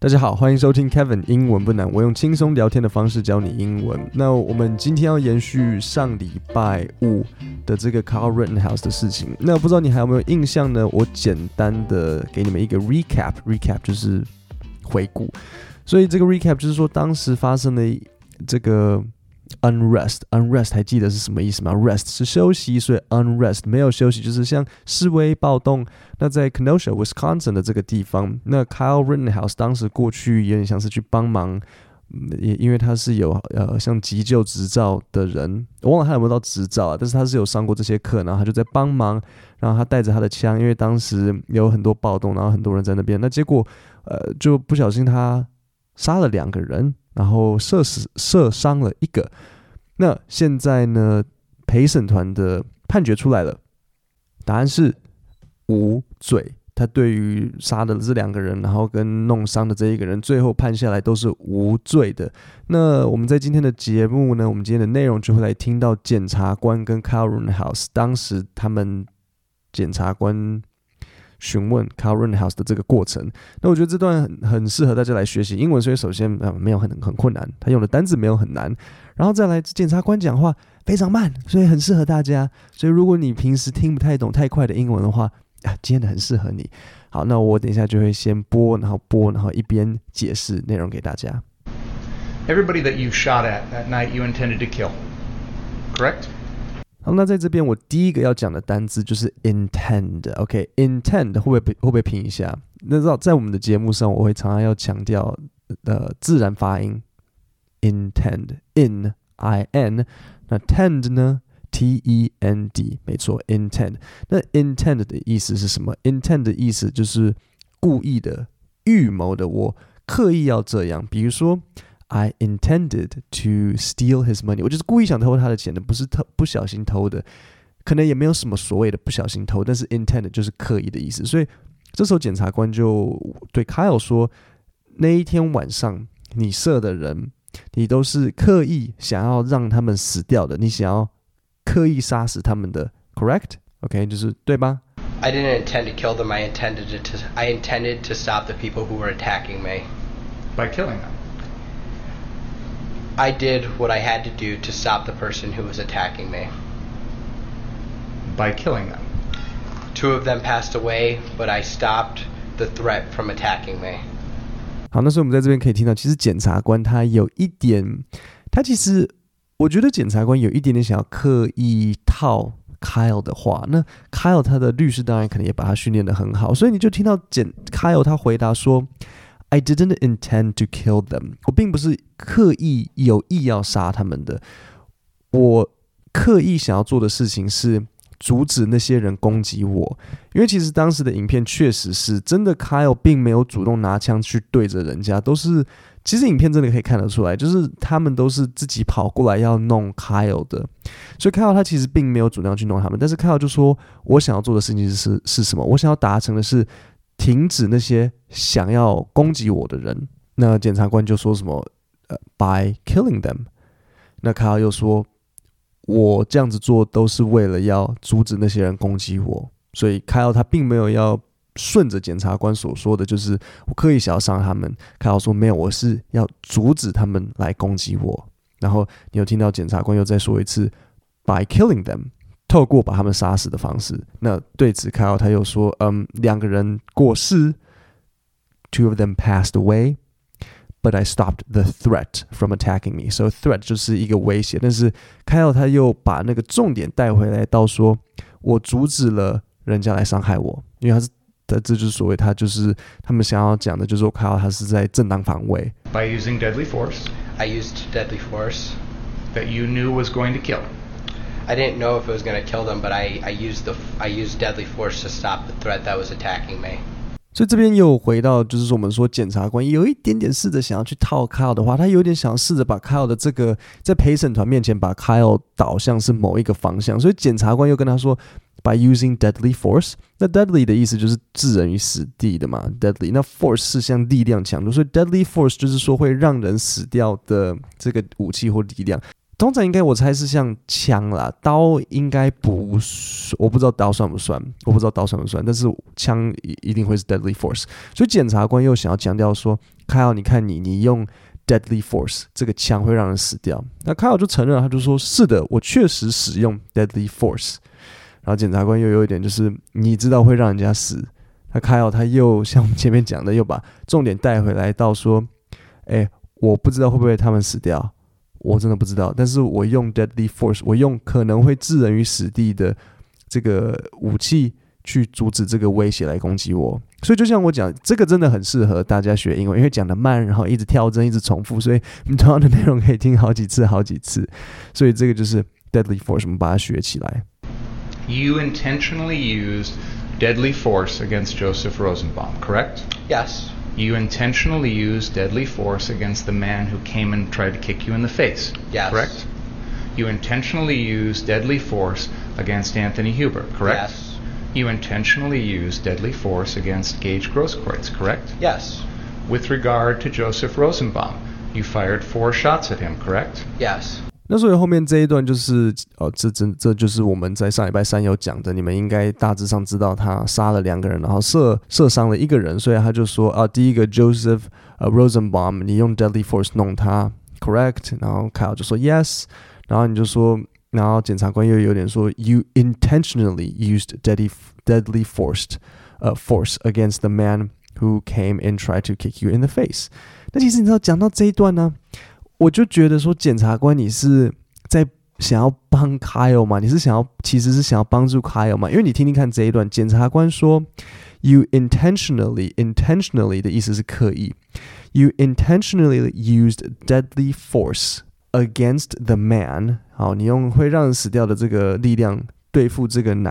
大家好，歡迎收聽 Kevin 英文不難，我用輕鬆聊天的方式教你英文。那我們今天要延續上禮拜五的這個 Kyle Rittenhouse 的事情。那不知道你還有沒有印象呢？我簡單的給你們一個 recap 就是回顧。所以這個 recap 就是說，當時發生的這個 unrest 還記得是什麼意思嗎？ rest 是休息，所以 unrest 沒有休息，就是像示威暴動。那在 Kenosha Wisconsin 的這個地方，那 Kyle Rittenhouse 當時過去有點像是去幫忙，也因為他是有像急救執照的人，我忘了他有沒有到執照啊，但是他是有上過這些課，然後他就在幫忙，然後他帶着他的槍，因為當時有很多暴動，然後很多人在那邊，那結果就不小心他殺了2個人，然後射傷了1個。那現在呢，陪審團的判決出來了，答案是無罪。他對於殺的這2個人，然後跟弄傷的這1個人，最後判下來都是無罪的。那我們在今天的節目呢，我們今天的內容就會來聽到檢察官跟 Kyle Rittenhouse 當時他們檢察官詢問 Kyle Rittenhouse 的這個過程。那我覺得這段很適合大家來學習英文，所以首先沒有很困難，他用的單字沒有很難，然後再來檢察官講話非常慢，所以很適合大家。所以如果你平時聽不太懂太快的英文的話，今天的很適合你。好，那我等一下就會先播，然後一邊解釋內容給大家。 Everybody that you shot at that night you intended to kill, correct? 好，那在這邊我第一個要講的單字就是 intend。OK，intend 會不會拼一下？那在我們的節目上，我會常常要強調自然發音 intend in。那 tend 呢？T-E-N-D 沒錯 intend。 那 intend 的意思是什麼？ intend 的意思就是故意的、預謀的，我刻意要這樣。比如說 I intended to steal his money， 我就是故意想偷他的錢的，不是不小心偷的，可能也沒有什麼所謂的不小心偷，但是 intend 就是刻意的意思。所以這時候檢察官就對 Kyle 說，那一天晚上你射的人，你都是刻意想要讓他們死掉的，你想要刻意殺死他們的 ，correct？ OK， 就是對吧？ I didn't intend to kill them. I intended to stop the people who were attacking me. By killing them. I did what I had to do to stop the person who was attacking me. By killing them. 2 of them passed away, but I stopped the threat from attacking me. 好，那所以我們在這邊可以聽到，其實檢察官他有一點，我覺得檢察官有一點點想要刻意套 Kyle 的話。那 Kyle 他的律師當然可能也把他訓練得很好，所以你就聽到Kyle 他回答說 I didn't intend to kill them， 我並不是刻意有意要殺他們的，我刻意想要做的事情是阻止那些人攻擊我。因為其實當时的影片確實是真的 Kyle 並沒有主動拿槍去對着人家，其實影片真的可以看得出來，就是他們都是自己跑過來要弄 Kyle 的，所以 Kyle 他其實並沒有主動去弄他們，但是 Kyle 就說我想要做的事情是什麼？我想要達成的是停止那些想要攻擊我的人。那檢察官就說什麼by killing them， 那 Kyle 又說我這樣子做都是為了要阻止那些人攻擊我，所以 Kyle 他並沒有要順着檢察官所說的，就是我刻意想要傷他們。Kyle 說沒有，我是要阻止他們來攻擊我。然後你有聽到檢察官又再說一次 by killing them， 透過把他們殺死的方式。那對此 Kyle 他又說2個人過世 2 of them passed away but I stopped the threat from attacking me。 So threat 就是一個威脅，但是 Kyle 他又把那個重點帶回來到說我阻止了人家來傷害我，因為这就是所謂他就是他們想要講的，就是說 Kyle 他是在正當防衛。 By using deadly force. I used deadly force. That you knew was going to kill. I didn't know if it was going to kill them, but I used deadly force to stop the threat that was attacking me. 所以這邊又回到，就是說我們說檢察官有一點點試着想要去套 Kyle 的話，他有點想要試着把 Kyle 的這個在陪審團面前把 Kyle 導向是某一個方向，所以檢察官又跟他說 by using deadly force。 那 deadly 的意思就是置人於死地的嘛 deadly， 那 force 是像力量強度，所以 deadly force 就是說會讓人死掉的這個武器或力量。通常應該我猜是像槍啦，刀應該不，我不知道刀算不算，但是槍一定會是 deadly force。所以檢察官又想要強調說 Kyle 你看你用 deadly force 這個槍會讓人死掉。那 Kyle 就承認，他就說是的，我確實使用 deadly force。然後檢察官又有一點就是你知道會讓人家死。那 Kyle 他又像我們前面講的，又把重點帶回來到說，我不知道會不會他們死掉，我真的不知道。但是我用 deadly force， 我用可能會置人於死地的這個武器去阻止這個威脅來攻擊我。所以就像我講，這個真的很適合大家學英文，因為講得慢，然後一直跳針，一直重複，所以你同樣的內容可以聽好幾次。所以這個就是 deadly force， 我們把它學起來。 You intentionally used deadly force against Joseph Rosenbaum, correct? Yes. You intentionally used deadly force against the man who came and tried to kick you in the face, yes. Correct? You intentionally used deadly force against Anthony Huber, correct? Yes. You intentionally used deadly force against Gage Grosskreutz, correct? Yes. With regard to Joseph Rosenbaum, you fired 4 shots at him, correct? Yes. 那所以后面這一段就是這就是我們在上禮拜3有講的，你們應該大致上知道他殺了2個人，然後射傷了1個人，所以他就說第一個 Joseph Rosenbaum 你用 deadly force 弄他 correct， 然後 Kyle 就說 yes， 然後你就說，然後檢察官又有點說 you intentionally used deadly force against the man who came and tried to kick you in the face。 那其實你知道講到這一段呢，我就覺得說，檢察官你是在想要幫 Kyle 嗎？你是其實是想要幫助 Kyle 嗎？因為你聽聽看這一段，檢察官說 You intentionally 的意思是刻意 You intentionally used deadly force against the man。 好，你用会讓人死掉的這個力量對付這個人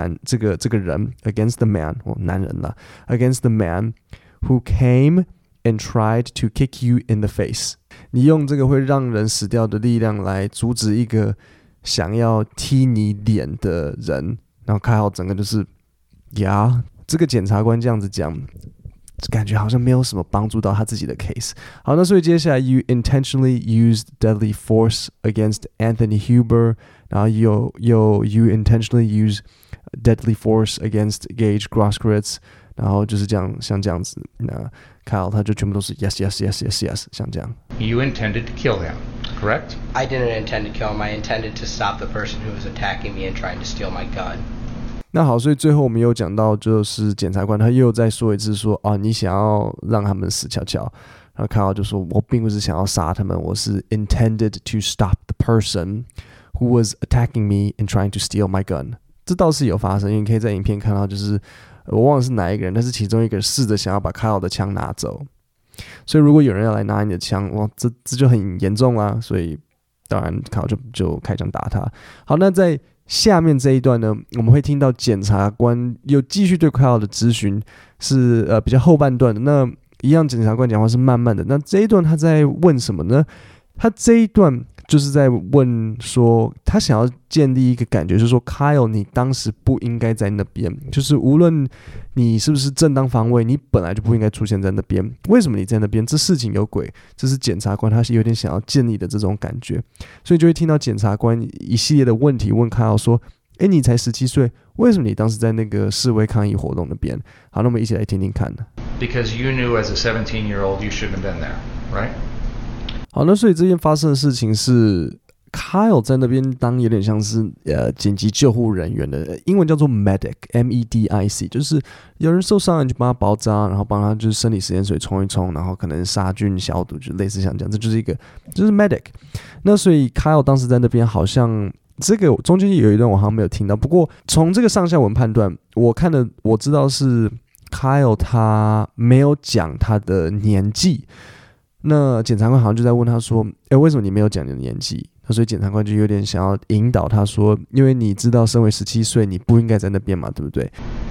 against the man， 男人啦 against the man who came and tried to kick you in the face。 你用這個會讓人死掉的力量來阻止一個想要踢你臉的人。然後開好整個就是這個檢察官這樣子講，感覺好像沒有什麼幫助到他自己的 case。 好，那所以接下來 You intentionally used deadly force against Anthony Huber， 然後You intentionally used deadly force against Gage Grosskreutz， 然後就是這樣，像這樣子，那 Kyle 他就全部都是 yes， 像這樣。 You intended to kill him, correct? I didn't intend to kill him. I intended to stop the person who was attacking me and trying to steal my gun. 那好，所以最后我們有講到，就是檢察官他又再說一次說你想要讓他們死翹翹，然後 Kyle 就說我並不是想要殺他們，我是 intended to stop the person who was attacking me and trying to steal my gun。 這倒是有發生，因為你可以在影片看到，就是我忘了是哪一個人，但是其中一個人試着想要把 Kyle 的槍拿走。所以如果有人要來拿你的槍，哇，這就很嚴重啦。所以當然 Kyle 就開槍打他。好，那在下面這一段呢，我們會聽到檢察官又繼續對 Kyle 的質詢，是比較後半段的。那一樣檢察官講話是慢慢的。那這一段他在問什麼呢？他這一段就是在問說，他想要建立一個感覺，就是說 Kyle 你當時不應該在那邊，就是無論你是不是正當防衛，你本來就不應該出現在那邊。為什麼你在那邊？這事情有鬼。這是檢察官他是有點想要建立的這種感覺，所以就會聽到檢察官一系列的問題問 Kyle 說，你才17歲，為什麼你當時在那個示威抗議活動那邊？好，那我們一起來聽聽看。 Because you knew as a 17-year-old you shouldn't have been there, right? 好，那所以這件发生的事情是 Kyle 在那邊當有點像是緊急救護人員的，英文叫做 medic M-E-D-I-C， 就是有人受傷了你就幫他包紮，然後幫他就是生理食鹽水沖一沖，然後可能殺菌消毒，就類似像這樣，這就是一個就是 medic。 那所以 Kyle 當時在那邊好像這個中間有一段我好像沒有聽到，不過從這個上下文判斷，我知道是 Kyle 他沒有講他的年紀。那檢察官好像就在問他說，為什麼你沒有講你的年紀？所以檢察官就有點想要引導他說，因為你知道身為17歲你不應該在那邊嘛，對不對？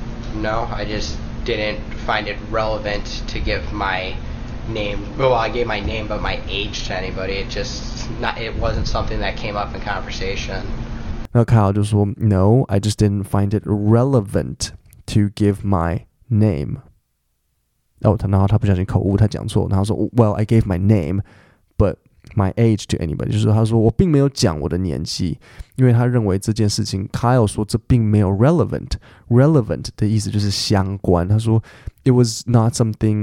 No, I just didn't find it relevant to give my name. Well, I gave my name but my age to anybody. It wasn't something that came up in conversation. 那凱爾就說 No, I just didn't find it relevant to give my name. 然後他不小心口誤，他講錯，然後說 Well, I gave my name, but my age to anybody， 就是他說我並沒有講我的年紀，因為他認為這件事情 Kyle 說這並沒有 relevant 的意思就是相關，他說 it wasn't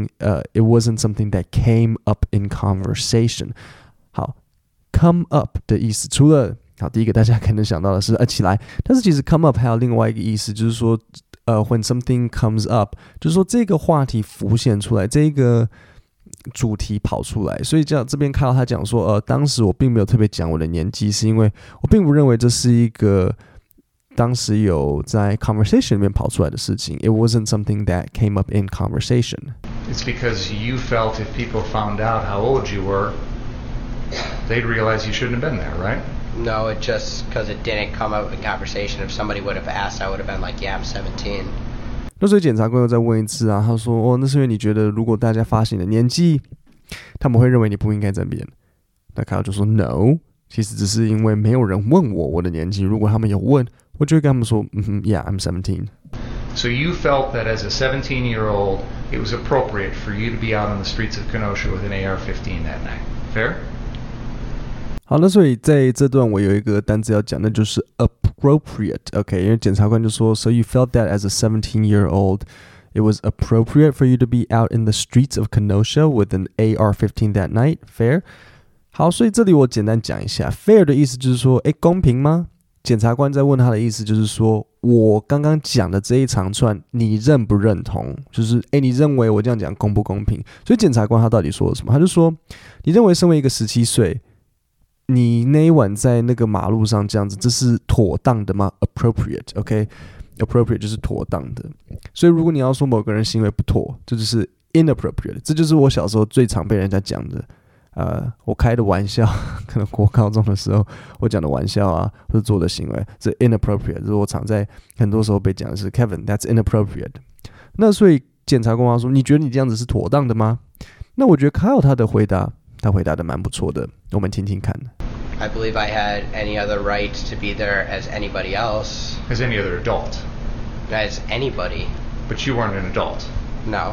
something that came up in conversation。 好， come up 的意思除了好第一個大家可能想到的是起來，但是其實 come up 還有另外一個意思，就是說when something comes up， 就是說這個話題浮現出來，這個主題跑出來，所以這邊看到他講說當時我並沒有特別講我的年紀，是因為我並不認為這是一個當時有在 conversation 裡面跑出來的事情。 It wasn't something that came up in conversation. It's because you felt if people found out how old you were, they'd realize you shouldn't have been there, right? No, it just because it didn't come up in conversation. If somebody would have asked, I would have been like, yeah, I'm 17. 那所以檢察官又再問一次啊，他說那是因為你覺得如果大家發現你的年紀，他們會認為你不應該在那邊。那凱爾就說 No， 其實只是因為沒有人問我的年紀，如果他們有問，我就會跟他們說yeah, I'm 17. So you felt that as a 17-year-old, it was appropriate for you to be out on the streets of Kenosha with an AR-15 that night. Fair? 好，那所以在這段我有一個單字要講，那就是 appropriate。OK， 因為檢察官就說 So you felt that as a 17-year-old, it was appropriate for you to be out in the streets of Kenosha with an AR-15 that night. Fair? 好，所以這裡我簡單講一下 fair 的意思就是說公平嗎？檢察官在問他的意思就是說我剛剛講的這一長串你認不認同，就是你認為我這樣講公不公平？所以檢察官他到底說了什麼？他就說你認為身為一個17歲你那一晚在那個馬路上這樣子，這是妥當的嗎？ Appropriate，OK， appropriate 就是妥當的。所以如果你要說某個人行為不妥，這就是 inappropriate。這就是我小時候最常被人家講的。我開的玩笑，可能國高中的時候我講的玩笑啊，或者做的行為，這 inappropriate， 就是我常在很多時候被講的是 Kevin that's inappropriate。那所以檢察官說，你覺得你這樣子是妥當的嗎？那我覺得 Kyle 他回答的蠻不錯的，我們聽聽看。 I believe I had any other right to be there as anybody else. As any other adult. As anybody. But you weren't an adult. No.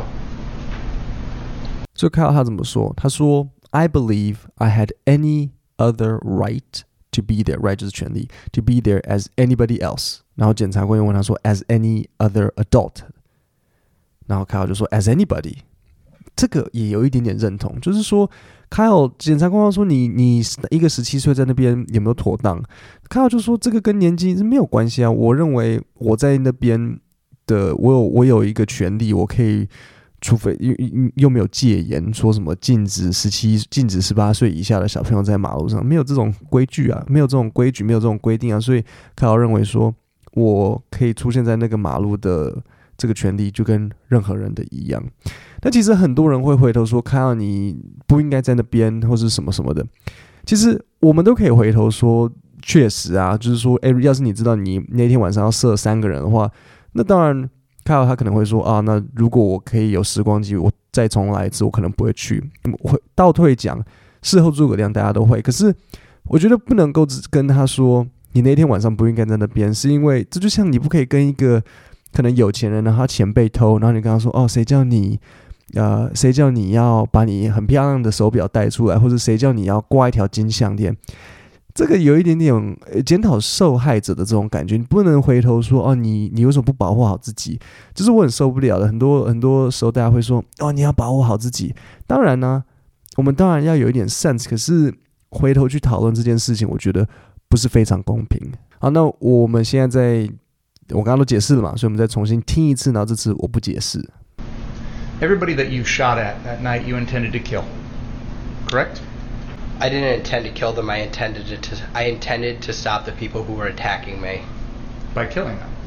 所以 Kyle 他怎麼說？他說 I believe I had any other right to be there. Right 就是權利 to be there as anybody else. 然後檢察官又問他說 as any other adult. 然後 Kyle 就說 as anybody。這個也有一點點認同，就是說 Kyle 檢察官說你一個17歲在那邊有沒有妥當？ Kyle 就說這個跟年紀是沒有關係啊，我認為我在那邊的我有一個權利，我可以除非又沒有戒嚴，說什麼禁止18歲以下的小朋友在馬路上，沒有這種規矩啊，沒有這種規矩，沒有這種規定啊，所以 Kyle 認為說我可以出現在那個馬路的這個權利就跟任何人的一樣。但其實很多人會回頭說看到你不應該在那邊或是什麼什麼的，其實我們都可以回頭說確實啊，就是說要是你知道你那天晚上要射3個人的話，那當然 Kyle 他可能會說啊，那如果我可以有時光機我再重來一次我可能不會去。我會倒退講，事後諸葛亮大家都會，可是我覺得不能夠只跟他說你那天晚上不應該在那邊，是因為這就像你不可以跟一個可能有錢人，然後他錢被偷，然後你跟他說誰叫你要把你很漂亮的手錶帶出來，或者誰叫你要掛一條金項鏈，這個有一點點檢討受害者的這種感覺。你不能回頭說你為什麼不保護好自己，這是我很受不了的。很多時候大家會說你要保護好自己，當然呢我們當然要有一點 sense， 可是回頭去討論這件事情我覺得不是非常公平。好，那我們現在我剛剛都解釋了嘛，所以我們再重新聽一次，然後這次我不解釋。 Everybody that you shot at that night you intended to kill, correct? I didn't intend to kill them. I intended to stop the people who were attacking me. By killing them?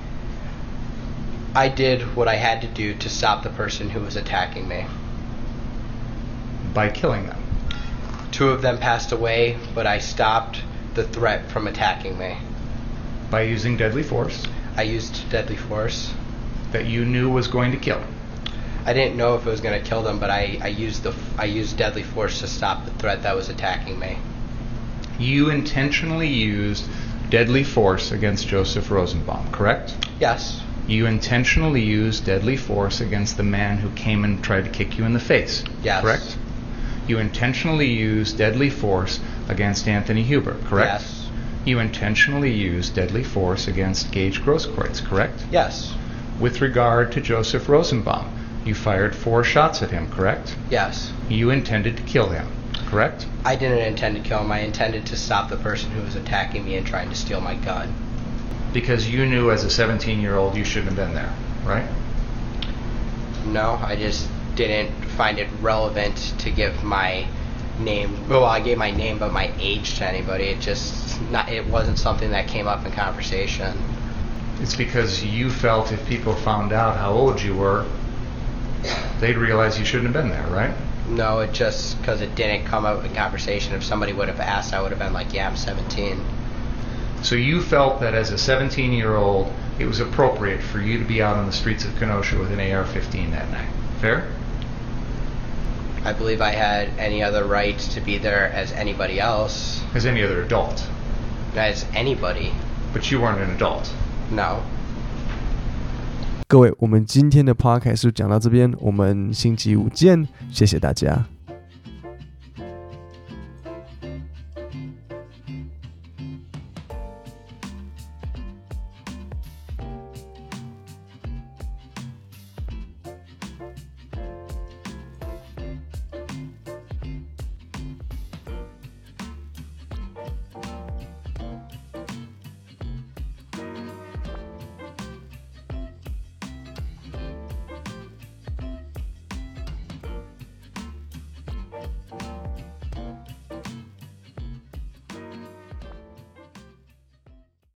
I did what I had to do to stop the person who was attacking me. By killing them? 2 of them passed away, but I stopped the threat from attacking me. By using deadly force? I used deadly force. That you knew was going to kill? I didn't know if it was going to kill them, but I used deadly force to stop the threat that was attacking me. You intentionally used deadly force against Joseph Rosenbaum, correct? Yes. You intentionally used deadly force against the man who came and tried to kick you in the face, yes. Correct? You intentionally used deadly force against Anthony Hubert, correct? Yes. You intentionally used deadly force against Gage Grosskreutz, correct? Yes. With regard to Joseph Rosenbaum, you fired 4 shots at him, correct? Yes. You intended to kill him, correct? I didn't intend to kill him. I intended to stop the person who was attacking me and trying to steal my gun. Because you knew as a 17-year-old you shouldn't have been there, right? No, I just didn't find it relevant to give my name. Well, I gave my name, but my age to anybody. It wasn't something that came up in conversation. It's because you felt if people found out how old you were, they'd realize you shouldn't have been there, right? No, it just because it didn't come up in conversation. If somebody would have asked, I would have been like, yeah, I'm 17. So you felt that as a 17-year-old, it was appropriate for you to be out on the streets of Kenosha with an AR-15 that night. Fair? I believe I had any other right to be there as anybody else. As any other adult. As anybody. But you weren't an adult. No. 各位，我們今天的 podcast 就講到這邊，我們星期五見，謝謝大家。